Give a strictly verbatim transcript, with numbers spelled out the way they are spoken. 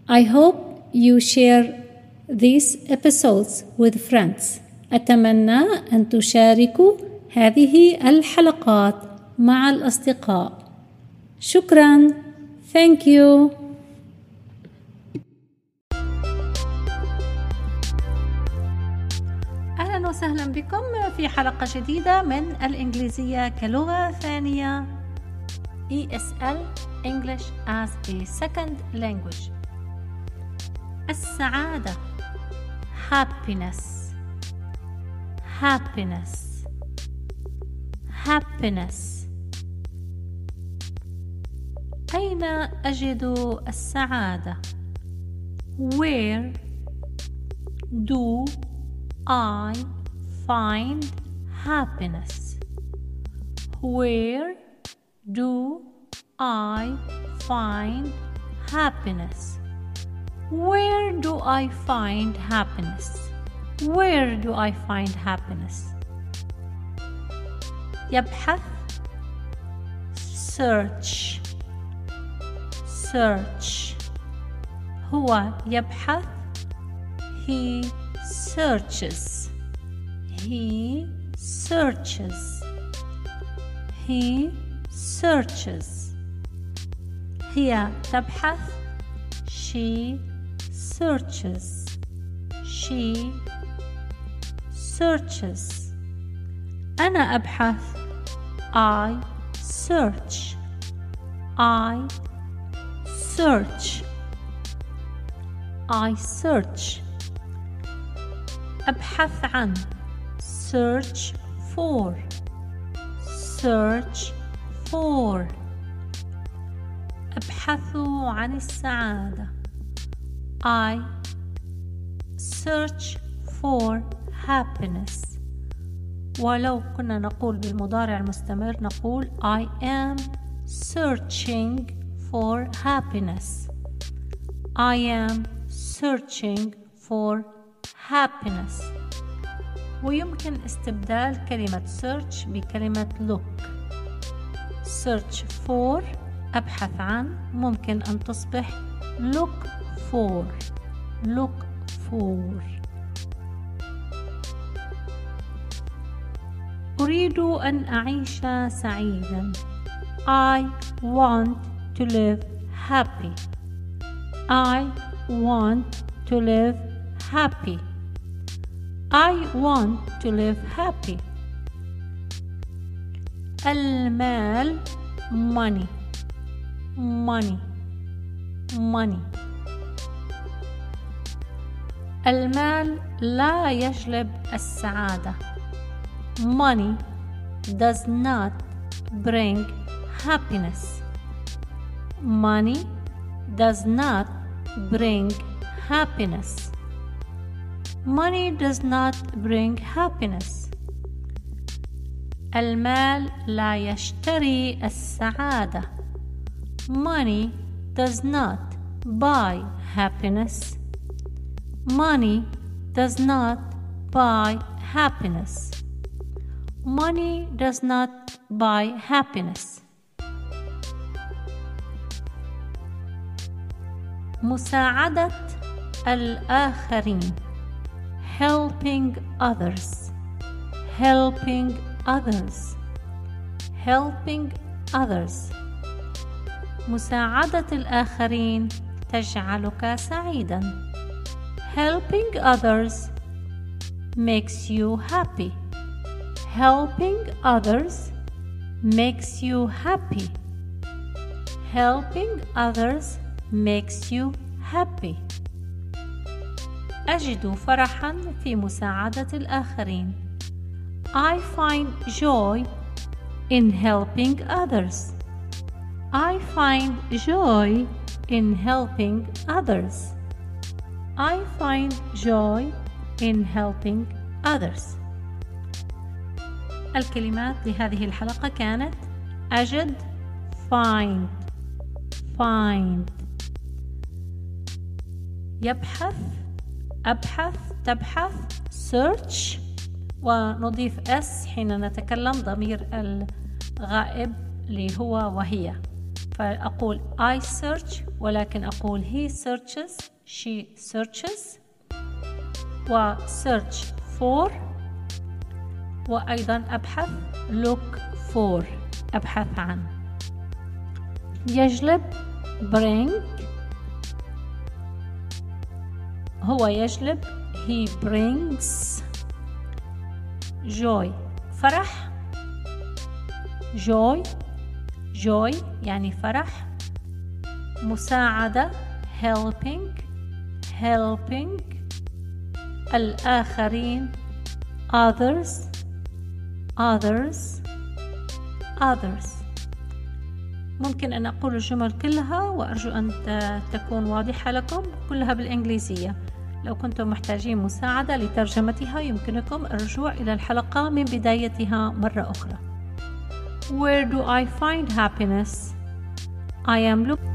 I hope you share these episodes with friends. أتمنى أن تشاركوا هذه الحلقات مع الأصدقاء. شكراً. Thank you. أهلاً وسهلاً بكم في حلقة جديدة من الإنجليزية كلغة ثانية إي إس إل English as a Second Language. السعادة happiness happiness happiness. أين أجد السعادة؟ Where do I find happiness? Where do I find happiness? Where do I find happiness? Where do I find happiness? يبحث search search. هو يبحث he searches he searches he searches. هي تبحث she searches she searches. أنا أبحث I search I search I search. أبحث عن search for search for. أبحث عن السعادة I search for happiness. ولو كنا نقول بالمضارع المستمر نقول I am searching for happiness I am searching for happiness. ويمكن استبدال كلمة search بكلمة look. search for أبحث عن ممكن أن تصبح look for look for. أريد أن أعيش سعيدا I want to live happy I want to live happy I want to live happy. المال money money money. المال لا يجلب السعادة. Money does not bring happiness. Money does not bring happiness. Money does not bring happiness. المال لا يشتري السعادة. Money does not buy happiness. Money does not buy happiness. Money does not buy happiness. مساعدة الآخرين helping others helping others helping others. مساعدة الآخرين تجعلك سعيدا. Helping others makes you happy. Helping others makes you happy. Helping others makes you happy. أجد فرحا في مساعدة الآخرين. I find joy in helping others. I find joy in helping others. I find joy in helping others. الكلمات لهذه الحلقة كانت أجد find find يبحث أبحث تبحث search ونضيف s حين نتكلم ضمير الغائب اللي هو وهي فأقول I search ولكن أقول he searches she searches و search for وأيضا أبحث look for أبحث عن. يجلب bring هو يجلب he brings joy فرح joy joy يعني فرح. مساعدة helping helping. الآخرين others others others. ممكن أن أقول الجمل كلها وأرجو أن تكون واضحة لكم، كلها بالإنجليزية. لو كنتم محتاجين مساعدة لترجمتها يمكنكم الرجوع إلى الحلقة من بدايتها مرة أخرى. Where do I find happiness? I am looking